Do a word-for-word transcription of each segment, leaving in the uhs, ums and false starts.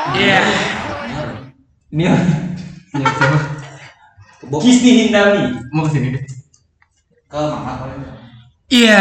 Iya. Ini ya. Ini siapa? Kisti Hindami. Mau kesini deh. Ke Mama paling. Iya.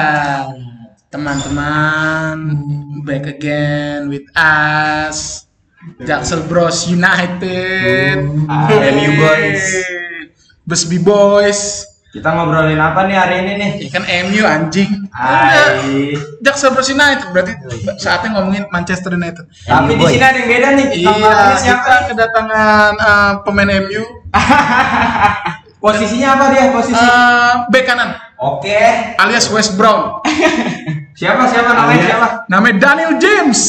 Teman-teman, back again with us. Jaksel Bros United. M U boys. Besbi boys. Kita ngobrolin apa nih hari ini nih? Ya kan M U anjing. Hai. Jaksel Bros United berarti saatnya ngomongin Manchester United. Tapi di sini ada yang beda nih. Iya, Namanya siapa? kita kedatangan uh, pemain M U. Posisinya apa dia? Posisi? Uh, bek kanan Oke. alias West Brown. Siapa siapa namanya Alias. siapa? Namanya Daniel James.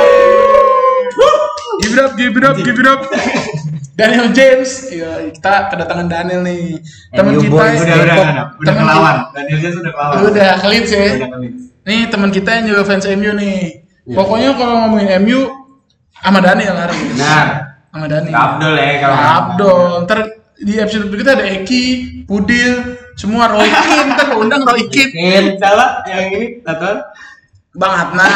Give it up, give it up, give it up. Daniel James. Iya, kita kedatangan Daniel nih. Teman M U kita boys, udah udah Depok. udah udah Temen kelawan. Daniel James udah kelawan. kita- Udah clean sih. Udah kelawan. Nih teman kita yang juga fans M U nih. Iya. Pokoknya kalau ngomongin M U sama Daniel harus. Nah, Sama Daniel. Abdul ya kalau Abdul. Ntar di episode berikutnya ada Eki, Pudil, semua Roy Kin. Ntar gua undang Roy Kin. Kin, salah yang ini Taton. Bang Adnan.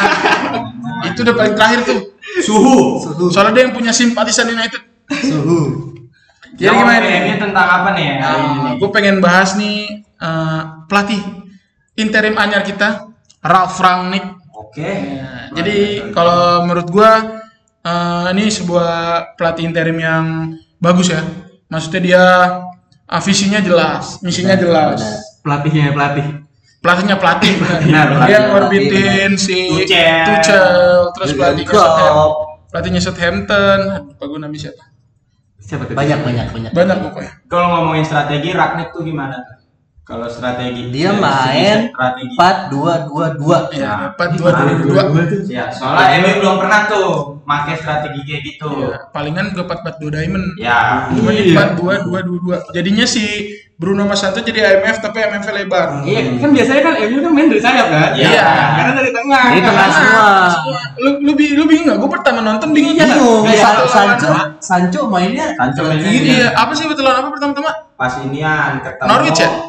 Itu udah paling terakhir tuh. Suhu. Soalnya dia yang punya simpatisan United. Suhu. Jadi gimana nih? Ini tentang apa nih hari ini? nih? Gue pengen bahas nih uh, pelatih interim anyar kita, Ralf Rangnick. Oke. Ya, jadi kalau menurut gue uh, ini sebuah pelatih interim yang bagus ya. Maksudnya dia uh, visinya jelas, misinya jelas. Pelatihnya pelatih. Pelatihnya pelatih. Benar, Dia pelatih, ngorbitin si Tuchel. Tuchel, terus pelatihnya Southampton. Klopp. Pelatihnya Southampton. Apa gue namanya siapa? Siapa tuh? Banyak banyak banyak. Banyak pokoknya. Kalau ngomongin strategi, Ragnik tuh gimana tuh? Kalau strategi Dia dari main segi strategi. empat dua dua dua. Ya, empat dua dua dua. Ya, soalnya M U belum pernah tuh pakai strategi kayak gitu. Iya, palingan juga empat empat dua diamond. Ya. Cuma Iya. di empat dua dua dua dua. Jadinya si Bruno Mas Santo jadi I M F tapi I M F lebar. Iya, kan biasanya kan M U kan main dari sayap kan? Iya. Karena dari tengah. Dari kan? tengah semua. Lu lu, bi- lu bingung enggak? Gue pertama nonton bingung Bingung. Kayak San- lawan- Sancho Sancho mainnya Sancho ke mainnya kiri. Iya, apa sih betul lawan apa pertama-tama? Pas inian ketemu Norwich ya?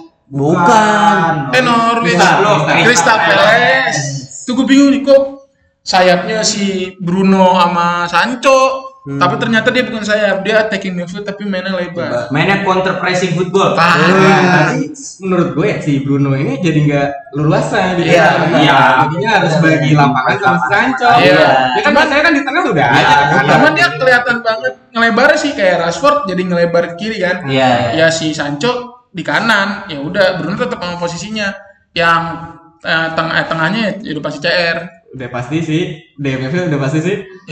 Bukan. Eh Norwich. Crystal Palace. Crystal Palace. Tuh gue bingung nih kok sayapnya si Bruno sama Sancho. Tapi ternyata dia bukan sayap, dia attacking midfield tapi mainnya lebar. Mainnya counter pressing football. Parah. Tapi menurut gue ya si Bruno ini jadi nggak leluasa di Iya, tengah. iya. Jadinya harus bagi lapangan sama si Sancho. Iya. Ya kan biasanya kan di tengah udah Iya, ada kan. iya. Cuman dia kelihatan banget ngelebar sih kayak Rashford jadi ngelebar ke kiri kan. Iya, iya. Ya si Sancho di kanan. Ya udah Bruno tetap sama posisinya. Yang eh, teng- eh, tengahnya ya udah pasti C R. Udah pasti sih, D M F udah pasti sih. Ya.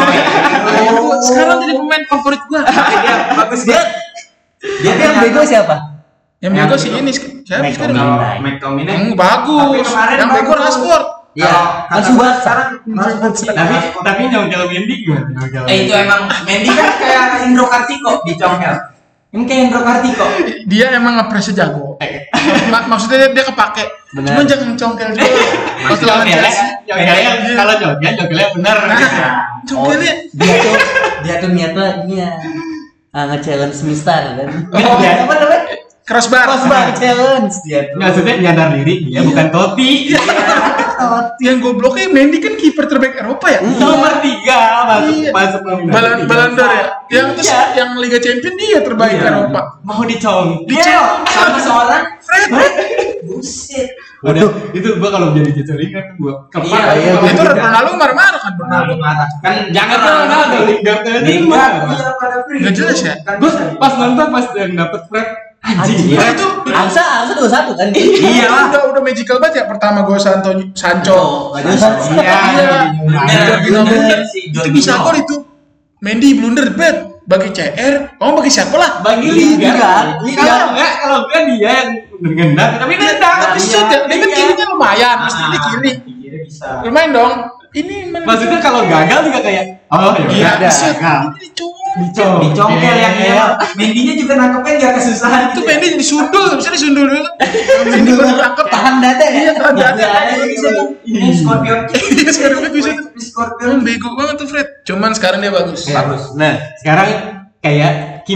Oh, sekarang jadi pemain favorit gua. Dia bagus dia. Dia yang bego siapa? Yang bego sih ini siapa McTominay. sekarang? Kalau McTominay Yang bagus. Tapi kemarin Yang bego bagus. Rashford. Iya. Kalau Kan kata Subasa. sekarang Rashford sih. Tapi tapi nyongkel Mendy gimana? Nyongkel Eh itu emang Mendy kan kayak Indro Kartiko di Congkel. Ini kayak Indro Kartiko. Dia emang ngepresnya jago. Mak- maksudnya dia, dia kepake. Bener. Cuma jangan congkel juga. Waktu lawan Nyongkelnya, Chelsea. nyongkelnya kalau nyongkel nyongkelnya bener. Nah, congkelnya. Dia tuh dia tuh niatnya ini ya. Ah, nge-challenge Mistar kan. Oh, Dia apa namanya? Crossbar. Crossbar challenge dia tuh. Maksudnya nyadar diri dia bukan Totti. Yang gobloknya Mendy kan kiper terbaik Eropa ya. Nomor tiga masuk Iya. masuk nominasi Balon tiga Balon d'Or ya. besar. Yang terus Iya. yang Liga Champion dia terbaik Iya. Eropa. Mau dicongkel. Dia sama seorang Fred. buset. Udah, itu gua kalau jadi cecelingan gua kepak. Iya, iya, Kalau Itu Lingard. Ronaldo marah-marah kan Ronaldo Ronaldo. marah. Kan Jangan tuh Ronaldo, Lingard aja Lingard marah. iya pada free. Nggak jelas ya? Kan Gua bisa. pas nonton pas yang dapet Fred anjing. Anjing. Nah, itu Angsa Angsa dua satu kan? iya udah udah magical banget ya pertama gol Santo Sancho. Nggak jelas. Iya. Iya. Bener, Jorginho bener, blunder. si Itu Jorginho. bisa gol itu. Mendy blunder bet bagi C R. Kamu bagi siapa lah? Bagi Lingard. Lingard. Lingard. Kalau enggak, kalau enggak dia yang ngendang, tapi nendang. Tapi shoot ya, dia kan Iya. kirinya lumayan, mesti di kiri. Kiri bisa. Lumayan dong. Ini mana- Maksudnya kalau gagal juga kayak oh ya Iya, udah. shoot. Nah, Ini dicongkel. dicongkel. Dicongkel yang Iya. ya. Mendinya juga nangkepnya nggak kesusahan. Itu Mendy disundul, bisa disundul dulu. Mendy baru tangkep. Tahan dada ya? Iya, tahan dada. Ada bisa tuh. Ini Scorpion. Iya, sekarang dia bisa tuh. Scorpion. Emang bego banget tuh Fred. Cuman sekarang dia bagus. Bagus. Nah, sekarang kayak Kimmich.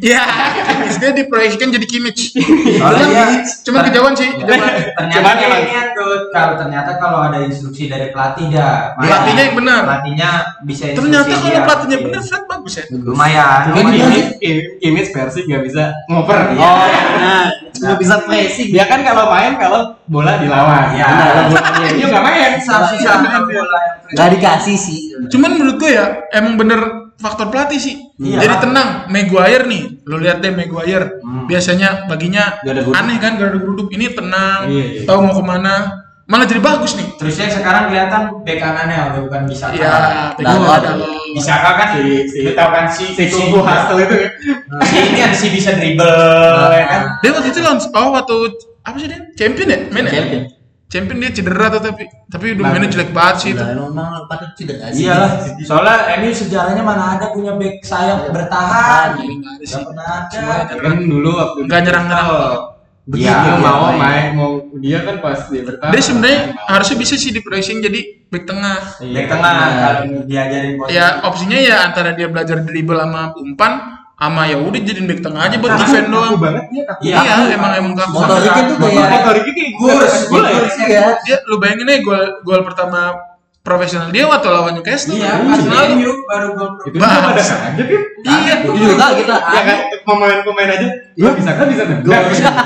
Iya, Kimmich dia diproyeksikan jadi Kimmich. Soalnya dia Cuma kejauhan sih, kejauhan. ternyata dia ini tuh kalau ternyata kalau ada instruksi dari pelatih dah. Pelatihnya yang benar. Pelatihnya bisa instruksi. Ternyata kalau dia. pelatihnya benar, Fred bagus ya. Lumayan. Cuma lumayan. Kimmich, Kimmich Persik nggak bisa ngoper. Iya. Nah, nggak bisa pressing. Dia kan kalau main kalau bola dilawan. Iya. Kalau bolanya dia nggak main. Susah-susah kalau bola yang Nggak dikasih sih. Cuman menurut gue ya, emang bener faktor pelatih sih. Iya. Jadi tenang, Maguire nih, lo lihat deh Maguire. Hmm. Biasanya baginya Gak ada geruduk. aneh kan, gak ada geruduk. Ini tenang, Iya, iya. tahu mau kemana. Malah jadi bagus nih. Terusnya sekarang kelihatan bek kanannya udah bukan bisa. Iya, Nah, Pedro nah, ada lo. Bisa kan Si si lu tahu kan si si Kubu Hustle itu ya. si ini kan si bisa dribble ya kan. Dia waktu itu lawan, oh waktu apa sih dia? Champion ya? Main ya? Champion. Champion dia cedera tuh tapi tapi udah Nah, mainnya jelek banget sih itu. Udah emang patut tidak sih. Iyalah, soalnya ini sejarahnya mana ada punya bek sayap bertahan. Iya, nggak ada sih. Gak pernah ada. Kan dulu waktu Nggak nyerang-nyerang. Begitu Iya, mau iya. main mau dia kan pas dia bertahan. Dia sebenarnya harusnya bisa sih diproyeksiin jadi back tengah. Bek tengah kalau diajarin posisi. Ya opsinya ya antara dia belajar dribble sama umpan sama ya udah jadiin back tengah aja buat defend doang. banget dia kaku. Iya, Iya, emang emang kaku. Motoriknya tuh kayak Motoriknya kayak Gurs, bola ya. Gurs ya. Dia lu bayangin aja gol gol pertama profesional dia waktu lawan Newcastle. Iya, Musim pas lalu. M U baru gol. Itu juga pada Bahas. kaget kan. Iya. Itu juga kita. Ya kan pemain-pemain aja. Gua bisa kan bisa nendang.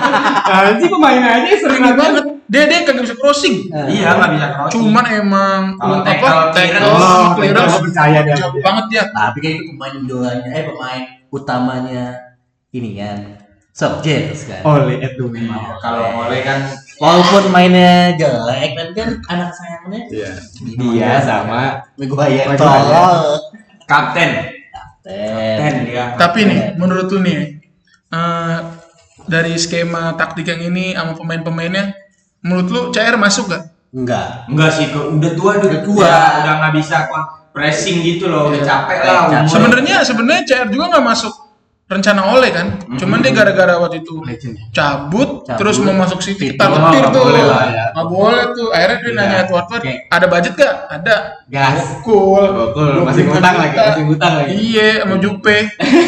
Anjing pemain aja sering Sering banget. Dia dia kagak bisa crossing. Iya, nggak bisa crossing. Cuman emang Kalau apa tackle, tackle Oh, clearance gua percaya dia. jauh banget dia. Tapi kayak itu pemain idolanya, eh pemain utamanya ini kan. Solskjaer kan. Oleh itu. Kalau oleh kan Walaupun mainnya jelek, tapi kan anak sayangnya Iya. Dia sama Maguire Maguire. tolol. kapten. Kapten. Kapten dia. Tapi nih menurut lu nih eh, dari skema taktik yang ini sama pemain-pemainnya menurut lu C R masuk gak? Enggak. Enggak sih, kok udah tua udah Udah tua, tua. udah nggak bisa kok pressing gitu loh, udah Iya. capek Capek. lah. umur. Sebenarnya sebenarnya C R juga nggak masuk rencana oleh kan, cuman dia gara-gara waktu itu legend ya. cabut, Cabut. terus mau masuk City City. kita Oh, letir nggak tuh, boleh lah ya. nggak boleh tuh. Akhirnya dia Iya. nanya tuh Watford, Oke. ada budget gak? Ada. Gas. Cool. Gokul, masih ngutang lagi, masih ngutang lagi. Iya, sama Jupe.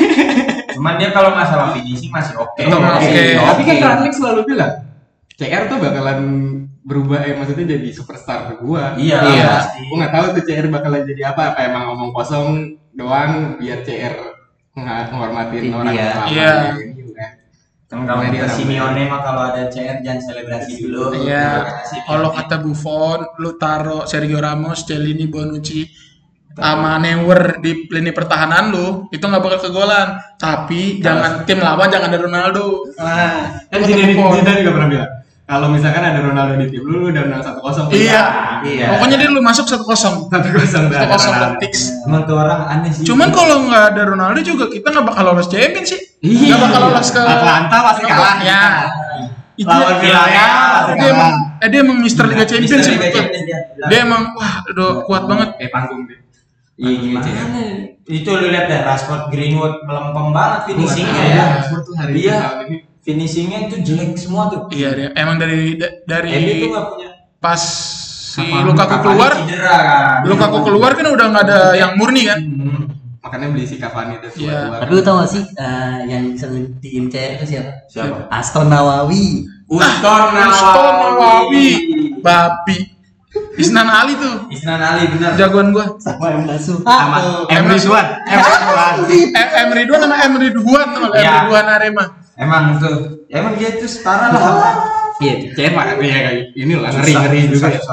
Cuman dia kalau masalah finishing masih oke. Tetap oke. Tapi kan Oke. Rangnick selalu bilang C R tuh bakalan berubah, eh maksudnya jadi superstar ke gua. Iya, Iya. pasti. Gua nggak tahu tuh C R bakalan jadi apa, apa emang ngomong kosong doang biar C R nggak menghormatin orang Iya. lama Iya. gitu kan. Kan kalau Nah, dia kata orang Simeone mah kalau ada C R jangan selebrasi dulu. Iya. Kata Simeone. Kalau kata Buffon, lu taruh Sergio Ramos, Cellini, Bonucci, sama Neuer di lini pertahanan lu, itu nggak bakal kegolan. Tapi jangan tim lawan jangan ada Ronaldo. Nah, Kan kata Zidane Buffon. Zidane juga pernah bilang, kalau misalkan ada Ronaldo di tim lu, lu udah menang satu kosong. Iya. Iya. Pokoknya dia lu masuk satu kosong. Satu kosong Satu kosong fix. Emang tuh orang aneh sih. Cuman kalau nggak ada Ronaldo juga kita nggak bakal lolos Champions sih. Iya. Nggak bakal lolos ke Atlanta pasti kalah. Ya. Itu Lawan dia- Villarreal pasti dia emang, kalah. eh, dia emang Mister Liga Champions sih. Liga betul. Champions dia. Dia emang wah udah kuat banget. Eh panggung deh. Iya gimana? Itu lu lihat deh Rashford, Greenwood melempem banget finishingnya Iya, ya. Rashford tuh hari Iya. ini tahun ini. Finishingnya itu jelek semua tuh. Iya dia emang dari da- dari M U tuh nggak punya. pas si Kapan- Lukaku Cavani keluar, cedera kan. Lukaku keluar kan udah nggak ada yang murni kan. Hmm. Makanya beli si Cavani itu Iya. tua-tua. Tapi lu tau gak sih eh, yang bisa ngetiin C R itu siapa? Siapa? Aston Nawawi. Uston Uston Nawawi, babi. Isnan Ali tuh Isnan Ali benar. jagoan gua. Sama yang Nasuha. Sama tuh. M Ridwan. M Ridwan. Eh, M Ridwan sama M Ridwan tuh, M Iya. Ridwan Arema. Emang tuh. Emang dia tuh setara lah. Iya, C R mah ya kayak ini lah ngeri-ngeri juga ya.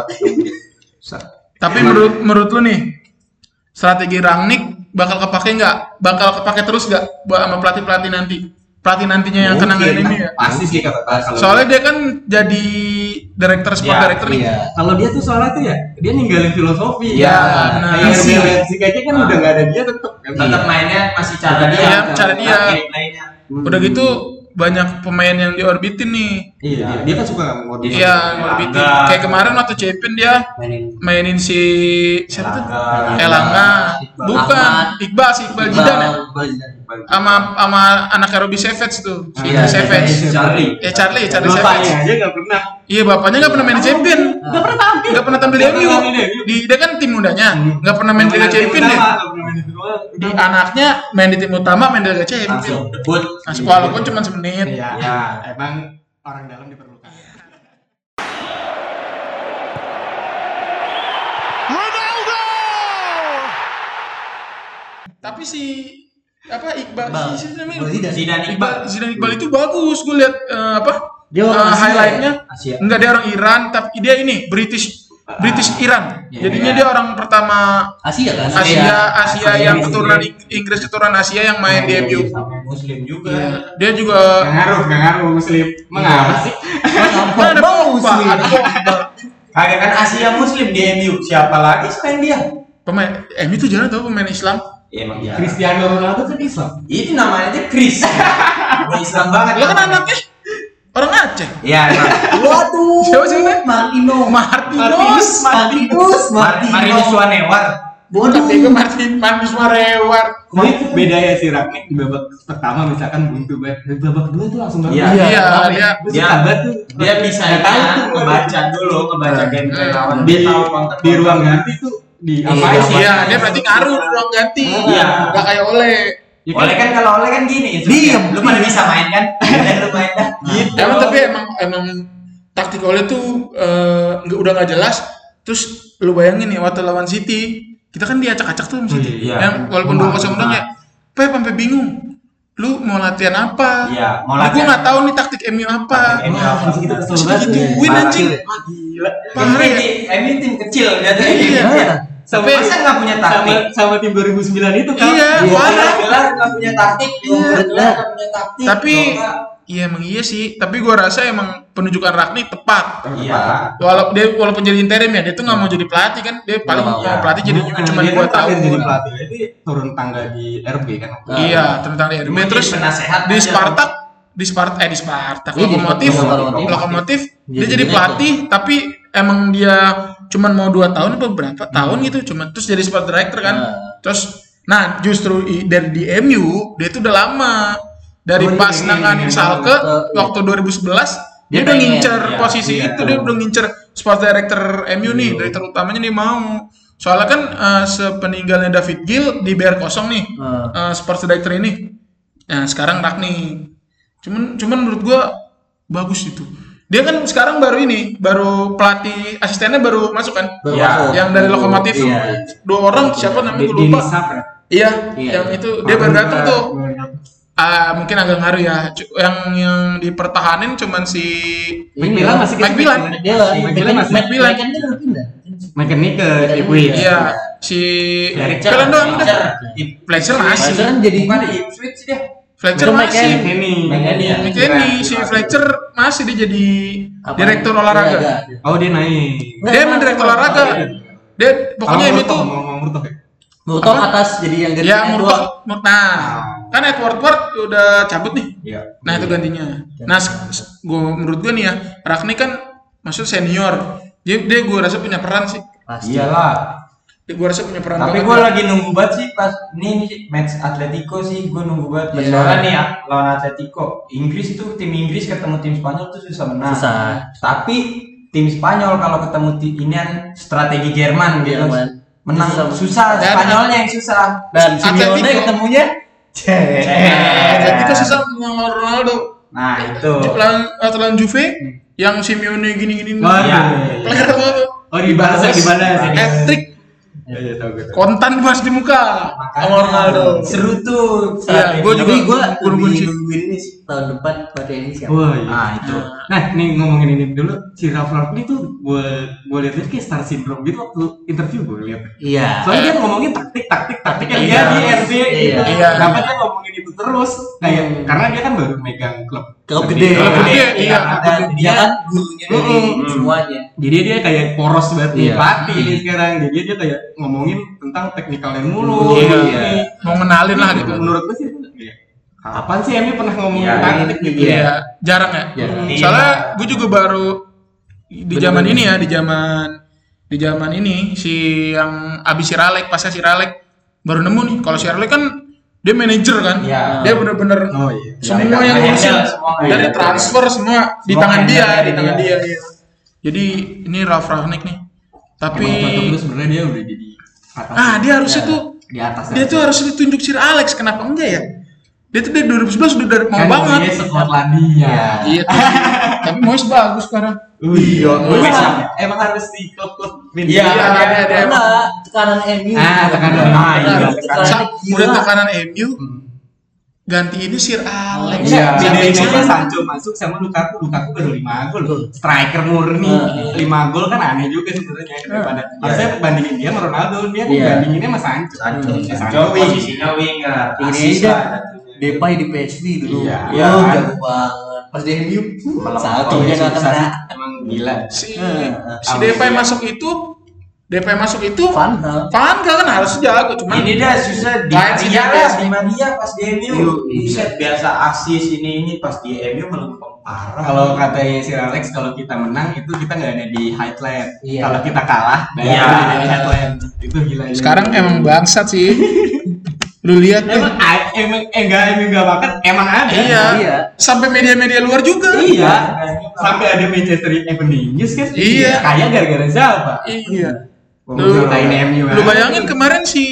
Tapi menurut menurut lu nih strategi Rangnick bakal kepake nggak? Bakal kepake terus nggak buat sama pelatih pelatih nanti? Pelatih nantinya yang kena Mungkin. ini ya. Pasti sih kata kalau Soalnya dia kan jadi director sport Iya, director nih. Iya. kalau dia tuh soalnya tuh ya dia ninggalin filosofi. Iya, benar. Kayak Visi. Herbe Leipzig aja kan udah nggak ada dia tetep kan. Tetap mainnya masih cara dia. Iya, cara dia. Gameplaynya. Udah gitu banyak pemain yang diorbitin nih. Iya, dia, dia kan suka ngorbit. Iya, ngorbitin. Elangga. Kayak kemarin waktu Champion dia Mainin mainin si siapa tuh? Elangga. Elangga. Iqbal. Bukan, Ahmad. Iqbal si Iqbal Jidan ya. Iqbal Jidan. Sama sama anaknya Robbie Savage tuh. Si Iya, Savage. Charlie. Eh Charlie, Charlie Bapaknya Savage. aja nggak pernah. Iya, bapaknya nggak pernah main di Champion. Nggak pernah tampil. Nggak pernah tampil di M U. Nggak pernah main di M U. Di dia kan tim mudanya. Nggak pernah main Liga Tim Champion dia. utama, nggak pernah main itu. di anaknya main di tim utama, main di Liga Champions. Langsung debut. Masuk walaupun cuma semenit. Iya. Ya. Emang orang dalam diperlukan. Tapi si apa Iqbal Iqbal. si, si namanya Iqbal Zidane. Zidane Iqbal Zidane Iqbal itu bagus. Gue lihat eh, apa Dia orang eh, Asia, highlightnya. Asia. Enggak, dia orang Iran, tapi dia ini British British Iran. Iya, Jadinya iya. dia orang pertama Asia kan? Asia Asia Asia yang Inggris. keturunan Ing- Inggris keturunan Asia yang main di M U. Sama Muslim juga. Iya. Dia juga Gak ngaruh, gak ngaruh muslim. Mengapa sih? Kan ada Pogba, ada Pogba. Kagak kan Asia Muslim di M U. Siapa lagi selain dia? Pemain M U itu jarang tau pemain Islam. Ya, emang ya. Cristiano Ronaldo kan Islam. Itu namanya aja Chris. Udah Islam banget. Dia kan anaknya orang Aceh. Iya, emang. Waduh. Siapa sih namanya? Martino. Martinus. Martinus. Mar- Marinus Wanewar. Bodoh. Tapi gue Martin Martinus Marewar. Ini beda ya si Ragnik di babak pertama misalkan buntu banget. Di babak kedua tuh langsung banget. Iya. Iya, Kenapa dia- ya? Gua suka dia- banget tuh. Dia bisa Nggak tahu tuh. ngebaca dulu, ngebaca gameplay lawan. di, Dia tahu counter. di ruang ganti tuh di Iya, apa sih? Iya, dia berarti ngaruh di ruang ganti. Iya. Enggak kayak Oleh. Ya kan? Oleh kan kalau oleh kan gini, Diem. lu pada bisa main kan? Dan lu main dah. Gitu. Emang tapi emang emang taktik Oleh tuh eh, nggak udah nggak jelas. Terus lu bayangin nih waktu lawan City, kita kan diacak-acak tuh sama City. Iya. Yang walaupun dua kosong menang ya, Pep sampai bingung. Lu mau latihan apa? Iya, mau Nah, gua latihan. nggak tahu nih taktik M U apa. Taktik M U apa. Anjing, kita kesel Masih banget. digituin Parah. anjing. Gila. Parah ya. M U tim kecil jatuhnya. Iya. Sama, Tapi masa nggak punya sama, taktik? sama tim dua ribu sembilan itu kan. Iya, Dua parah. gelar nggak punya taktik, dua Iya. gelar nggak punya taktik. Tapi- Dua nggak- Iya emang iya sih. Tapi gua rasa emang penunjukan Ragnik tepat. Iya. Walaupun dia walaupun jadi interim ya, dia tuh nggak mau jadi pelatih kan. Dia paling Nggak mau. mau pelatih jadi Nah, cuma dia dua kan terakhir tahun. jadi pelatih. Jadi turun tangga di R B kan. Iya, tentang di R B Cuma terus jadi penasehat di aja. Spartak, di Spartak eh di Spartak Iya, di Lokomotif, Spartak, Lokomotif. Lokomotif dia Jadi jadi direktur. pelatih tapi emang dia cuman mau dua tahun apa berapa tahun gitu, cuman terus jadi sport director kan. Nah. Terus nah justru i- dari di M U dia tuh udah lama dari Oh, dia pas pengen, nanganin pengen Schalke banget. Iya. waktu dua ribu sebelas dia, Dia udah pengen, ngincer iya, posisi iya, itu, tuh. dia udah ngincer sport director M U nih, Iya. direktur utamanya dia mau. Soalnya kan eh, sepeninggalnya David Gill di B R kosong nih. Hmm. eh, sports director ini. Nah, sekarang Ragnik. Cuman cuman menurut gua bagus itu. Dia kan sekarang baru ini, baru pelatih asistennya baru masuk kan? Baru Iya. masuk. Yang dari Lokomotif. Iya. Dua orang siapa namanya gua Denny lupa. Sap ya. Iya, Iya. yang itu dia baru datang tuh. Ah, mungkin agak ngaruh ya. Cu- Yang yang dipertahanin cuman si McMillan masih Mike Milan. Dia McMillan masih. Mike Milan. kan dia udah pindah. McKennie ke Iya. Ipswich. Iya, si Fletcher. Milan doang udah. Fletcher. Fletcher masih. Fletcher kan jadi Bukan di Ipswich sih dia. Fletcher Itu masih. McKennie. McKennie ya? McKennie, si Fletcher masih dia jadi apa? direktur olahraga. Olahraga. Oh dia naik. Dia emang direktur olahraga. Dia pokoknya ini tuh ngomong Murtoh ya. Murtoh Apa? atas jadi yang ganti ya Edward. Murtoh. Mur- Nah, kan Edward Ward udah cabut nih. Iya. Nah itu gantinya. Nah, gua menurut gua nih ya, Ragnik kan maksud senior. Dia, dia gua rasa punya peran sih. Pasti. Iyalah. Dia gua rasa punya peran Tapi banget. gue lagi nunggu banget sih pas ini nih match Atletico sih gue nunggu banget. Iya. Soalnya nih ya lawan Atletico, Inggris tuh tim Inggris ketemu tim Spanyol tuh susah menang. Susah. Tapi tim Spanyol kalau ketemu tim inian strategi Jerman gitu. Jerman. Menang Susah. susah, Dan- Spanyolnya yang susah. Dan Atletico. Simeone ketemunya Nah, jadi itu susah sama Ronaldo. Nah, itu. Lawan lawan Juve yang Simeone gini-gini. Waduh. Iya. Player banget. Oh di bahasa di mana sih? Hat-trick. Ya, ya, tahu gue. Kontan pas di muka sama Ronaldo. Seru tuh. Iya, gua juga- Tapi gue gua nungguin lebih sih. nungguin ini sih tahun depan pelatih ini siapa? Wah, iya. Nah, itu. Nah, nih ngomongin ini dulu, si Ralf Ragnik tuh gue gue lihat kayak star syndrome gitu waktu interview gue lihat. Iya. Soalnya dia ngomongin taktik, taktik, taktik kan Iya. dia di R B gitu. Iya. Iya. Kenapa dia ngomongin itu terus? Kayak Hmm. karena dia kan baru megang klub. Klub gede. Klub gede, iya. Dan dia kan gurunya dari Hmm. semuanya. Jadi dia kayak poros banget nih Iya. pelatih ini sekarang. Jadi dia kayak ngomongin tentang teknikalnya mulu. Iya. Ini. Mau ngenalin lah gitu. Menurut gue sih iya. Kapan sih M U pernah ngomongin Iya, taktik gitu? iya. Iya, jarang ya. Jarang. Soalnya gue juga baru di Bener-bener. zaman ini ya, di zaman di zaman ini si yang abis si Ralek, pasnya si Ralek baru nemu nih. Kalau si Ralek kan dia manajer kan. Iya. Dia bener-bener Oh iya. semua Iya, yang iya, ngurusin semua, dari iya. transfer semua di Semua tangan dia, handle di dari tangan dia. dia. Iya. Jadi ini Ralf Rangnick nih. Tapi Emang cocok lu sebenarnya dia udah jadi atas. ah dia harusnya Ya. tuh di atas. Dia tuh harus ditunjuk Sir Alex, kenapa enggak ya? Dia tuh dari dua ribu sebelas udah dari mau kan banget. dia Skotlandia. Iya tuh. Tapi Moyes bagus sekarang. Iya, Moyes. emang harus di klub-klub Iya, Iya, ada ada. Karena tekanan M U. Ah, tekanan. Ah, iya. Sa- udah gila. tekanan M U. Ganti ini Sir Alex. Iya, Siapa bedanya yang aja salah? Sancho masuk sama Lukaku, Lukaku baru lima gol. Striker murni Heeh. lima gol kan aneh juga sebenarnya daripada harusnya bandingin dia sama Ronaldo, dia Iya. bandinginnya sama Sancho. Sancho, Ya, Sancho posisinya winger. Ini Asis aja. lah. Depay di P S V dulu. Iya. Iya, Iya. jago banget. Pas di M U satu Iya, dia nggak susah kena. sih. Emang gila. Si Heeh. si Depay masuk itu, Depay masuk itu Van Hal. Van Gaal kan harus jago, cuman Ini dah susah di Main si Maria Depay. lah, di Maria pas di M U. Iya. Buset, biasa asis ini ini pas di M U melempem parah. Kalau katanya Sir Alex, kalau kita menang itu kita nggak ada di highlight. Iya. Kalau kita kalah, Iya. ada di highlight. Itu gila. sekarang emang bangsat sih. Lu lihat deh. emang a- emang eh, enggak emang enggak banget, emang ada. Iya. Iya. Sampai media-media luar juga. Iya. Sampai ada Manchester Evening News kan? Iya. Kayak gara-gara siapa? Iya. Lu Lu, ceritain M U. lu bayangin kemarin si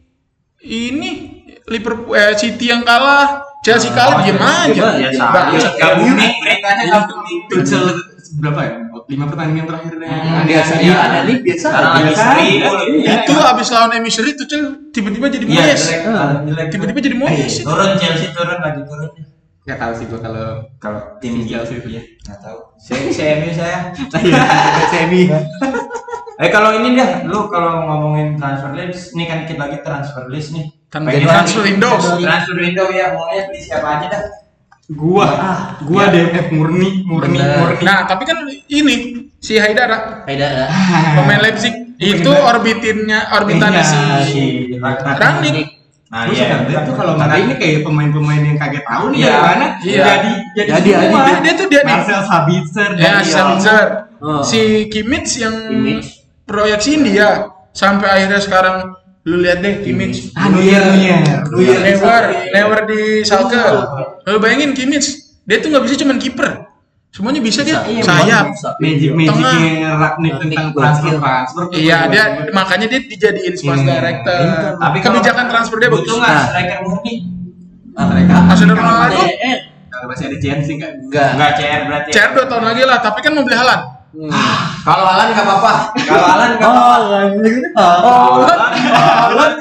ini Liverpool eh, City yang kalah, Chelsea kalah, diem aja. Ya Bagus. sama. Gak booming, mereka gak booming. Tuchel berapa ya? Lima pertandingan terakhirnya. Hmm, Biasa Ada- iya ada nih biasa. Sekarang lagi Biasa. seri. Iya. Itu abis lawan M U seri Tuchel tiba-tiba jadi Iya, Moyes. jelek, jelek. Tiba-tiba jadi Moyes. itu. Turun Chelsea turun lagi turun. Nggak tahu sih gua kalau Kalau tim Chelsea itu ya. nggak tahu. Saya saya M U saya. Semi. Eh kalau ini dah, lu kalau ngomongin transfer list, ini kan dikit lagi transfer list nih. Kan Pengen transfer lagi. window. Transfer window ya, maunya beli siapa aja dah. Gua, gua D M F murni, murni, Bener. murni. Nah, tapi kan ini si Haidara, Haidara. pemain Leipzig, itu orbitinnya orbitannya Iya, si si Rangnick. Nah, Gua iya. suka banget tuh kalau nggak ini kayak pemain-pemain yang kaget tahu nih Iya. dari mana Iya. jadi jadi Jadi, semua. Dia, dia tuh dia nih. Marcel Sabitzer Ya, dari si Sabitzer. Oh. Si Kimmich yang Kimmich. proyeksiin dia sampai akhirnya sekarang lu lihat deh Kimmich. Ah, Neuer, Neuer. Neuer. Neuer, Neuer di Schalke. Lu bayangin Kimmich, dia tuh nggak bisa cuman kiper. Semuanya bisa dia. Iya, Sayap. bisa. Magic Tengah. Magicnya Ragnik tentang transfer transfer. Iya, dia makanya dia dijadiin sports Iya. director. Tapi kalau kebijakan transfer dia bagus. butuh nggak Nah. striker murni? Ah, mereka Masih ada kalau Ronaldo? masih- eh, kalau masih ada chance sih kan. Enggak. Enggak C R berarti. C R dua tahun lagi lah, tapi kan mau beli Haaland. Kalau Alan nggak apa-apa. Kalau Alan nggak apa-apa. Oh, Alan.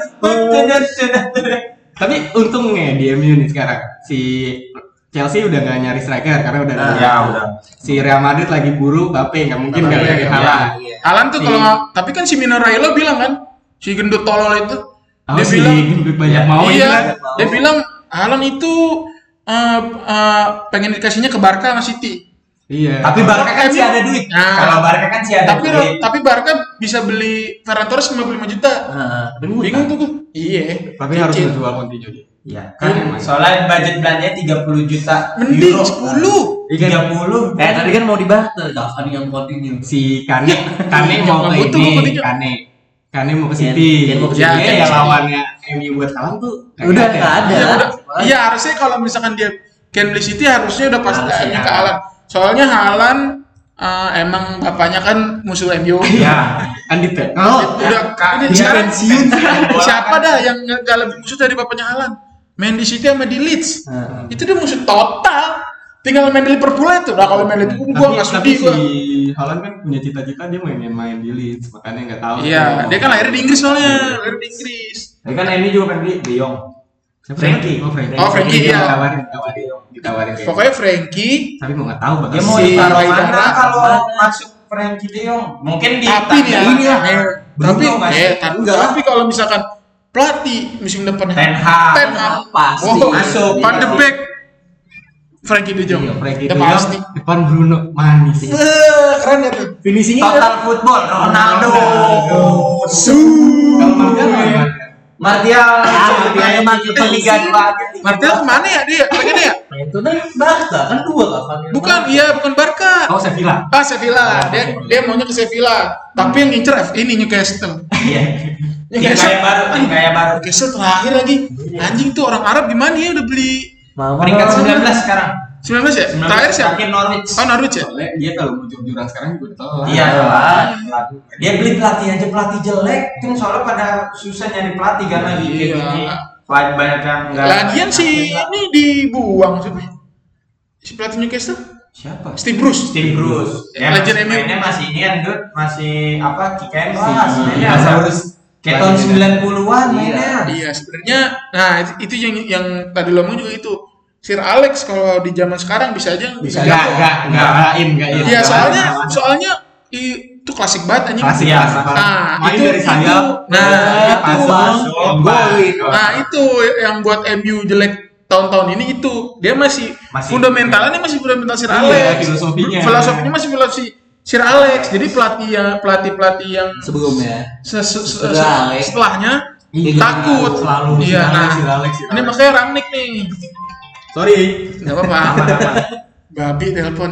Tapi untungnya di M U nih sekarang si Chelsea udah gak nyari striker karena udah ada Ya udah. si Real Madrid lagi buru Mbappe nggak mungkin Mbappe, gak nyari iya. Haaland. Haaland tuh Si- kalau nggak, tapi kan si Mino Raiola bilang kan, si gendut tolol itu, Oh, dia si bilang, gendut banyak Ya, mau iya, ini kan. dia bilang Haaland itu eh, eh, pengen dikasihnya ke Barca sama City. Iya. Tapi Barca kan sih ada duit. Nah. Kalau Barca kan sih ada Tapi duit. tapi Barca bisa beli Ferran Torres lima puluh lima juta. Bingung tuh gue. Iya. Tapi harus Cicil. menjual Coutinho dia. Iya. Kan soalnya budget belanjanya tiga puluh juta. Mending euro. sepuluh. tiga puluh. Eh tadi kan mau dibarter, Cavani yang continue. Si Kane, Kane mau Nggak ke butuh ini, Coutinho. Kane. Kane mau ke Ken- City. Ken mau ke Ya, City. ya lawannya M U buat Haaland tuh Udah nggak ada. Iya, udah. Iya, harusnya kalau misalkan dia Ken beli City harusnya udah pasti Harusnya. ke Haaland. Soalnya Haaland eh, emang bapaknya kan musuh M U. Ya. Kan ditekan. Udah ini dia sekarang pensiun. siapa dah yang nggak nggak lebih musuh dari bapaknya Haaland? Main di City sama di Leeds. Itu dia musuh total. Tinggal main di Liverpool itu. Nah, kalau main di Liverpool gua nggak tapi sudi gua. si Haaland kan punya cita-cita dia main main di Leeds, makanya nggak tahu. Iya, dia kan lahir di Inggris soalnya, lahir di Inggris. Tapi kan M U juga pengen beli De Jong. Frankie. Oh, Frankie. Oh, Frankie, Dia iya. Ditawarin, ditawarin, ditawarin. dia. Pokoknya Frankie, Tapi mau nggak tahu bakal Dia mau Si ditaruh Haidara mana kalau mana? masuk Frankie De Jong? Mungkin di tapi nih tangga- ini ya, eh, tapi Bruno masuk. eh, tapi, tapi kalau misalkan pelatih musim depan Ten Hag. Ten Hag Pasti. wow, Masuk. Van de Beek, Frankie De Jong, Iya, Frankie udah De Jong, pasti. depan Bruno manis. Eh, keren ya tuh. Finishingnya Total football Ronaldo. Kalau Martial gimana? Martial. Ah, Martial emang kita Liga sih. dua aja. Martial kemana ya dia? Pengen ya? itu kan Barca kan dua Cavani. Bukan, iya bukan Barca. Oh, Sevilla. Ah, Sevilla. Dia dia maunya ke Sevilla. Tapi yang ngincer F ini Newcastle. Iya. Tim Newcastle. kaya baru, tim kaya baru. Newcastle terakhir lagi. Anjing tuh orang Arab gimana ya udah beli Mama. Peringkat sembilan belas sekarang. sembilan belas ya? Terakhir siapa? Terakhir Norwich. Oh, Norwich ya? Soalnya dia kalau mau jurang sekarang juga telat. Iya, Ah. telat. Dia beli pelatih aja pelatih jelek, kan soalnya pada susah nyari pelatih karena di kayak Iya. gini. Banyak banyak yang enggak. Lagian si ini dibuang siapa? Si pelatih Newcastle? Siapa? Steve Bruce. Steve Bruce. Ya, Legend masih M U. mainnya masih ini kan, Dut. Masih apa? Kick and pass. Si Mainnya Lazarus. kayak tahun sembilan puluhan mainnya. Iya, sebenarnya nah itu, itu yang yang tadi lo ngomong juga itu. Sir Alex kalau di zaman sekarang bisa aja Bisa enggak enggak enggak in enggak in. Iya, soalnya soalnya itu klasik banget anjing. Klasik Iya. klasik. Nah, Main itu, dari sayap. itu. Nah, itu. pasang, golin. Nah, itu yang buat M U jelek tahun-tahun ini itu. Dia masih, Masih- fundamentalnya masih fundamental Sir Iya, Alex. filosofinya. Filosofinya masih filosofi Sir Alex. Jadi pelatih yang pelatih-pelatih yang Sebelumnya. se- se- se- Sir se- Alex. setelahnya Iya, takut. selalu Iya, Sir Alex, nah. Sir Alex, Sir Ini Alex. makanya Rangnick nih. Sorry. Enggak apa-apa. Babi telepon.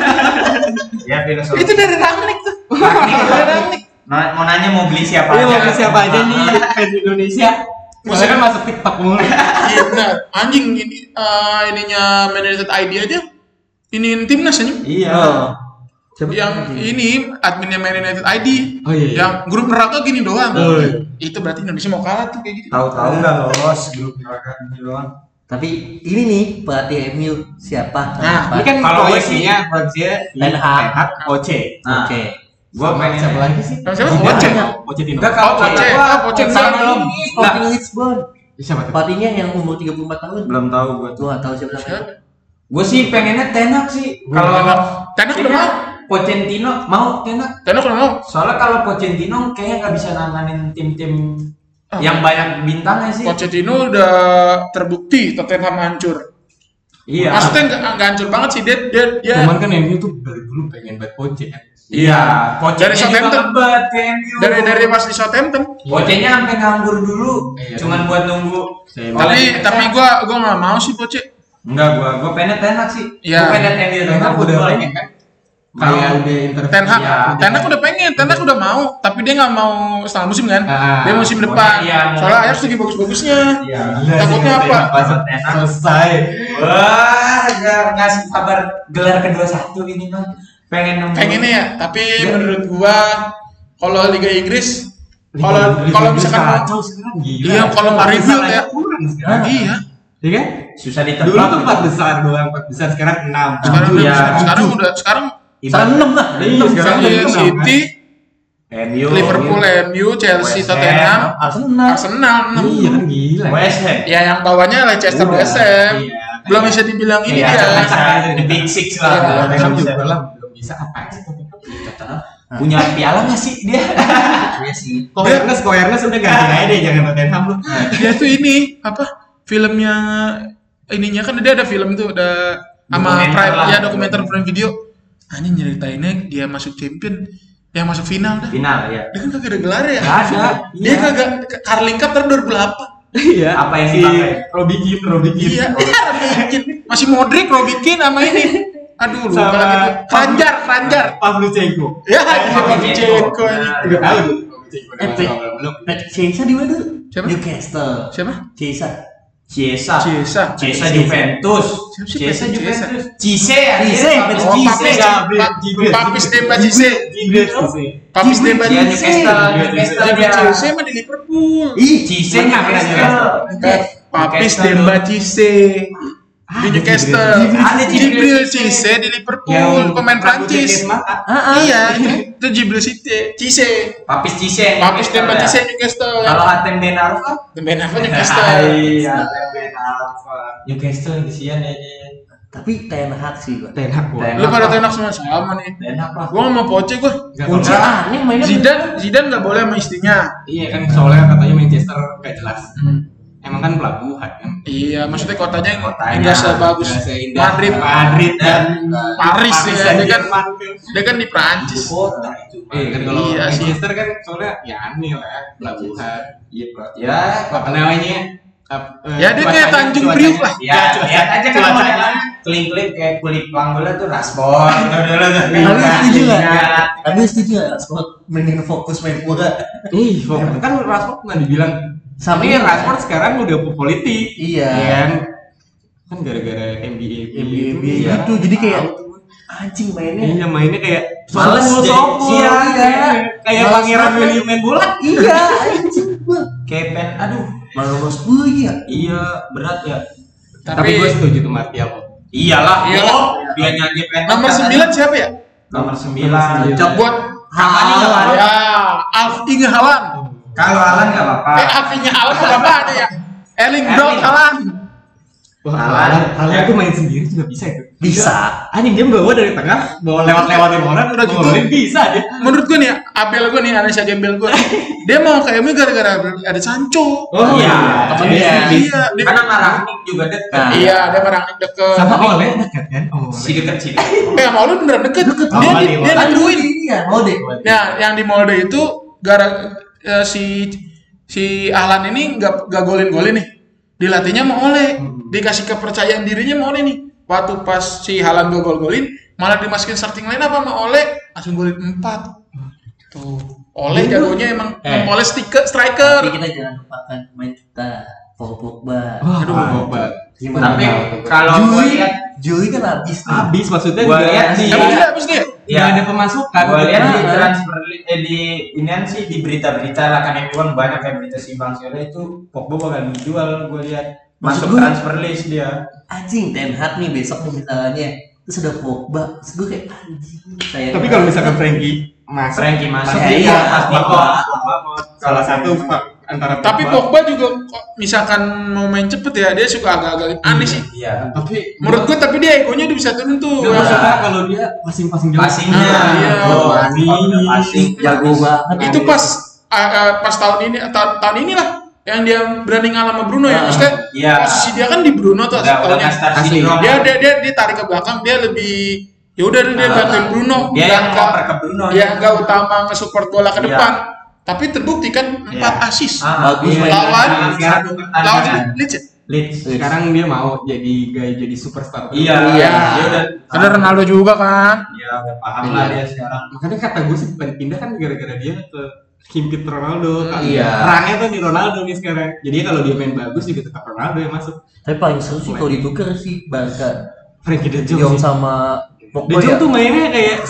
Ya filosofi. Itu dari Rangnick tuh. Dari Rangnick. Nah, mau nanya mau beli siapa Iya, aja? mau beli siapa aja nih fans Indonesia? Maksudnya kan masuk TikTok mulu. Iya benar. Anjing ini eh, ininya Man United I D aja. Iniin timnas anjing. Iya. Oh. Siapa Yang lagi? ini adminnya Man United I D. Oh, iya, iya. Yang grup neraka gini doang. Oh, iya. Itu berarti Indonesia mau kalah tuh kayak gitu. Tahu-tahu nggak lolos grup neraka ini doang. Tapi ini nih pelatih M U siapa? Nah, Ini kan Kalau gue proyeksinya proyeksinya Ten Hag. Oce. Nah, Oke. Gua Sama pengen siapa lagi sih? Sama siapa? Zidane. Oce. Pochettino. Enggak, kalau Oh, Poche. Poche. Ah, Poche Sama enggak. belum. Ini Sporting Lisbon. Siapa tuh? Pelatihnya yang umur tiga puluh empat tahun. Belum tahu gua tuh. Gua nggak tahu siapa namanya. Siapa? Gue sih pengennya Ten Hag sih. Gua Kalau Ten Hag. Ten Hag udah mau. Pochettino mau Ten Hag. Ten Hag udah mau. Soalnya kalau Pochettino kayaknya nggak bisa nanganin tim-tim Ah. yang banyak bintangnya sih. Pochettino udah terbukti Tottenham hancur. Iya. Maksudnya nggak nggak hancur banget sih dia dia dia. Cuman kan M U tuh dari dulu pengen banget Poche kan. Iya. Dari Southampton. Ngebat ke M U. dari dari pas di Southampton. Poche-nya sampai nganggur dulu. Iya. Cuman buat nunggu. Saya- Tapi Oleh- tapi gua gua nggak mau sih Poche. Enggak, gua gua pengen Ten Hag sih. Iya. Gua pengen M U Ten Hag udah football. pengen kan. Kayak Mau. udah interview. Ten Hag, Iya. Ten Hag udah pengen, Ten Hag udah mau, tapi dia nggak mau setengah musim kan? Ah. Dia musim depan. Iya, mau. Soalnya Ajax lagi bagus-bagusnya. Iya. Takutnya apa? Pas Ten Hag. selesai. Wah, nggak ngasih kabar gelar kedua satu ini mah. Pengen nunggu. Pengennya ya, tapi Iya. menurut gua kalau Liga Inggris, Liga- kalau Liga kalau Inggris misalkan mau, kacau sekarang, gila. iya kalau nggak rebuild ya, Kurang sekarang. iya. Iya kan? Susah ditebak. Dulu tuh empat besar doang, empat besar sekarang enam. Sekarang Tujuh, udah, ya. sekarang udah, sekarang Sekarang enam lah. Iya, sekarang iya, udah enam, City, M U, Liverpool, M U, Chelsea, West Tottenham, Arsenal. Arsenal, enam. Iya kan gila. West Ham. Ya yang bawahnya Leicester, Udah, West Ham. iya. Belum bisa dibilang ini Iya, dia. bisa the big six lah. Iya, Kalau Tottenham Tottenham juga bisa. lah belum bisa apa sih. Punya piala nggak sih dia? Iya sih. Kok Ernest, kok Ernest udah ganti aja deh, jangan Tottenham lu. Dia tuh ini apa? Filmnya ininya kan dia ada film tuh, ada sama Dokumenter Prime, lah. ya dokumenter Prime Video. Anjing nyeritainnya dia masuk champion, yang masuk final dah. Final ya. Dia kan kagak ada gelar ya. Nggak ada, Dia iya. kagak Carling Cup tahun dua ribu delapan. Iya. Apa yang si dipakai? Robbie Keane, Robbie Keane. Iya, dia bikin. Masih Modric, Robbie Keane sama ini. Aduh, lupa Sama- lagi tuh. Kranjar, Kranjar. Pavlyuchenko. Ya, Oh, Pavlyuchenko ini. Udah tahu tuh. Pavlyuchenko. Eh, Belum, belum. Nah, Chiesa di mana? Siapa? Newcastle. Siapa? Chiesa. Ciesa. Ciesa. Ciesa Juventus. Siapa sih Ciesa Ciesa? Juventus. Cise ya. Cise, Papis Oh, Cise. Papis Gabriel, Gabriel. Papis Demba Cisse. Gibret sih. Papis Demba Dia Cisse. Newcastle. Newcastle Demba dia. Cisse mah di Liverpool. Ih, Cise Mana Newcastle. Papis Newcastle Demba dulu. Cisse di Newcastle. Ada Jibril Cisse di Liverpool, pemain Prancis. ah, ah. Iya, itu Jibril Cisse. Cisse. Papis Cise. Papis Demba Newcastle Cisse ya. Newcastle. Kalau Hatem Ben Arfa? Ben apa Newcastle? Iya, Hatem Ben Arfa. Newcastle di sini aja. Tapi Ten Hag sih gua. Ten Hag gua. Ten Lu pada tenak semua sama nih. Dan apa? Gua nggak mau Poche gua. Nggak Kunci tahu. aneh mainnya. Zidane, Zidane nggak boleh sama istrinya. Iya kan soalnya katanya Manchester gak jelas. Emang kan pelabuhan kan. Iya, maksudnya kotanya Kotanya. nggak sebagus Nggak seindah Madrid, Madrid dan Paris ya. dan Dia kan, Jerman kan. dia kan di Prancis. Kota itu. Iya kan kalau Iya sih. Manchester kan soalnya ya aneh lah pelabuhan. Iya, Bro. Ya, Apa namanya? Ap- eh, Ya, dia kayak cuacanya- Tanjung cuacanya- Priuk lah. ya, lihat aja kan cuacanya. klip-klip kayak kulit panggola tuh raspor. Tapi setuju Iya. nggak? Tapi setuju nggak? Sport mending fokus main bola. Ih, fokus. Kan Rashford pernah dibilang Sama tapi Rashford sekarang udah politik. Iya. Iya kan? kan gara-gara N B A N B A itu, gitu. iya. Jadi kayak anjing mainnya. Iya mainnya kayak Males sopo, jadi- sopo. iya, iya. Kayak Males Pangeran banget. William main bola. Iya, anjing gua. Kepen, aduh. Malah mas gue ya. Iya, berat ya. Tapi, Tapi gue setuju tuh Martial. Iyalah, Iyalah. oh, dia nyanyi penalti. nomor sembilan siapa ya? Nomor sembilan. Cocok Buat Cavani nggak apa-apa. ya Alfie Haaland. Kalau Alan nggak apa-apa. Eh Alfie-nya Haaland apa ada ya? Erling Erling. Braut Haaland. Wah, Haaland. Haaland tuh main sendiri juga bisa itu. Bisa. Anjing dia bawa dari tengah, bawa lewat-lewatin orang, Udah gitu. golin bisa dia. Menurut gue nih, Abel gue nih, Anesha Gembel gue, dia mau ke M U gara-gara ada Sancho. Oh Iya. Temen Iya. dia, iya, dia, Karena Marangnik juga deket. Nah. iya, dia merangkik deket. Sama Ole dekat kan? Oh, Si deket sih. deket. Eh, sama lu beneran deket. Dia, Oh, dia, Mali, dia Mali. nentuin. Iya, mau deh. Nah, yang di Molde itu gara eh, si si Ahlan ini nggak nggak golin-golin nih. Dilatihnya mau Ole, dikasih kepercayaan dirinya mau Ole nih. Waktu pas si Haaland gak gol-golin, malah dimasukin starting line apa sama Ole, langsung golin empat. Tuh, Ole jagonya emang Eh. Ole stiker Tapi striker. kita jangan lupakan pemain kita, Paul Pogba. Wah, Aduh, Pogba. Gimana? Tapi tahu? kalau gua Jui, lihat, Jui kan habis nih. Habis maksudnya Gua nggak- lihat di- Emang dia habis dia? ya nggak ada pemasukan. gua lihat di Nah. transfer li- eh, di inian sih di berita-berita lah kan M U kan banyak kayak berita si Bang Sule itu Pogba bakal dijual. Gua lihat Maksud masuk gua- transfer list dia. Anjing Ten Hag nih besok nih misalnya. Terus ada Pogba. Terus gue kayak anjing. Saya Tapi kalau misalkan Frankie masuk, Frankie masuk Iya, dia iya, pasti Pogba. kok. salah satu antara Tapi Pogba juga kok misalkan mau main cepet ya, dia suka agak-agak aneh sih. Iya. Tapi Menurut gue tapi dia egonya udah bisa turun tuh. Gak Ya. masalah kalau dia passing-passing jauh. Passingnya, Ah, iya. oh, Passing. passing jago banget. Itu pas ah, ah, pas tahun ini tahun, tahun inilah yang dia berani ngalah sama Bruno ya. Ah, Maksudnya iya. posisi dia kan di Bruno tuh Udah udah tahunnya. nggak start Asli. syndrome. Dia dia dia dia tarik ke belakang, dia lebih ya udah dia Ah, bantuin Bruno. Dia yang nggak- ngoper ke Bruno. dia nggak utama nge-support bola ke Iya. depan. Tapi terbukti kan empat Iya. assist. Ah, Bagus iya. main. Lawan Sekarang lawan pertandingan. Leeds ya? Leeds. Sekarang dia mau jadi gaya jadi superstar. Iya, Iya. Dia udah Ada Ronaldo juga kan. Iya, udah paham lah dia sekarang. Makanya kata gue sih bukan pindah kan gara-gara dia ke himpit Ronaldo. Kan Iya. Perangnya tuh di Ronaldo nih sekarang. Jadi kalau dia main bagus juga tetap Ronaldo yang masuk. Tapi paling seru sih kalau ditukar sih Barca. Frankie De De Jong Jong sih. sama De Pogba Jong ya. tuh mainnya kayak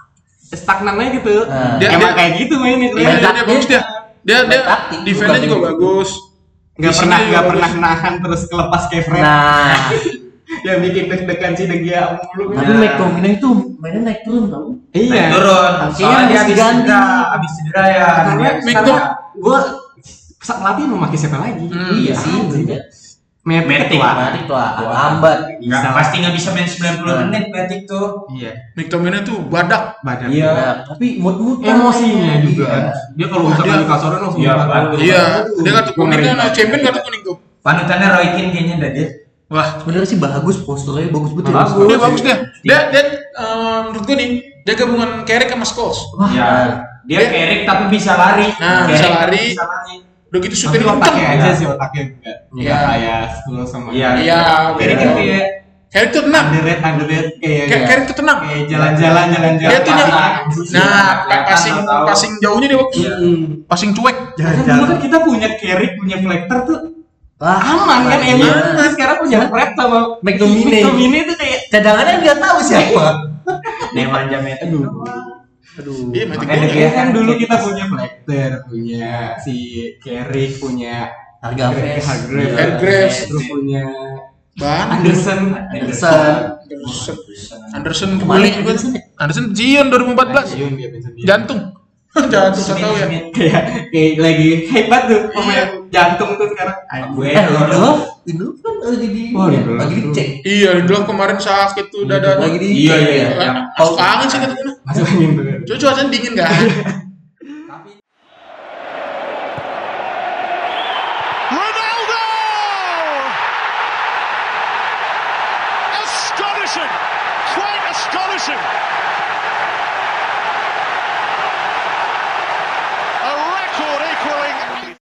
stagnan aja gitu. Nah. Dia- Emang dia- kayak gitu mainnya. Dia, dia, dia bagus dia. Dia dia Taktik, defense-nya bukan juga gitu. bagus. Nggak Visinya pernah juga nggak bagus. pernah nahan terus kelepas kayak Fred. Nah, Yang bikin deg-degan si De Gea mulu. tapi McTominay itu mainnya naik turun tau. Iya. Naik turun. Kayaknya Soalnya dia habis habis diganti. cedera, habis cedera ya. Karena Dia- Micto- gue saat pelatih mau pakai siapa lagi? Hmm, Iya sih, bener. Matic Matic. ketua. Mati tuh lambat. Nggak, pasti nggak bisa main sembilan puluh Nah. menit Matic tuh. Iya. McTominay tuh badak. Badan. Iya. Nah, tapi mood-mood Emosinya juga kan. Iya. Dia kalau Wah, misalkan dia- di kasurnya langsung Iya, batu. batu. Iya, Aduh, dia kartu gua kuning ngeri kan, banget. champion kartu kuning tuh. Panutannya Roy Keane kayaknya dah dia. Wah, Sebenarnya sih bagus posturnya bagus betul. Bagus. dia bagus dia. Dia dia eh, menurut gue nih, dia gabungan Carrick sama Scholes. Wah, Iya. Dia Dia- Carrick tapi bisa lari. Nah, Carrick bisa tapi lari. Bisa lari. Udah gitu Tapi shooting otaknya kenceng. aja Iya. sih otaknya enggak. Iya. Iya. Kayak Scholes sama. Iya. Iya, Jadi kan kayak Carrick tuh tenang. underrated underrated kayak Kayak Carrick tuh tenang. kayak jalan-jalan jalan-jalan. Dia tuh Passing. nyampe. Nah, Kelihatan, passing tahu. passing jauhnya dia bagus. Iya. Passing cuek. Karena dulu kan kita punya Carrick, punya Fletcher tuh Wah, aman kan iya. emang. Nah, sekarang punya Fred sama McTominay. McTominay tuh kayak Cadangannya nggak tahu siapa. Dia manja Matic. aduh. Aduh. Iya, Matic Makanya gua- dia- Ya kan dulu kita punya Fletcher, punya si Carrick, punya Harga Fes. Hargreaves, Hargreaves. terus punya Ban. Anderson. Anderson. Anderson. Anderson Kemarin kembali juga. Anderson ya? Anderson Zion dua ribu empat belas. Pensiun dia pensiun dia. Jantung. Jantung saya tahu ya. Kayak kayak lagi hebat tuh pemain Iya. jantung tuh sekarang. Gue Eh, Lindelof, Lindelof kan lagi di Oh, Lindelof lagi tuh. dicek. Iya, dulu kemarin sakit tuh dada. Lagi di Iya, iya, iya. Kan, aku kangen sih ketemu. Masuk angin tuh. Cuaca cuacanya dingin kan? Ronaldo! Astonishing! Quite astonishing!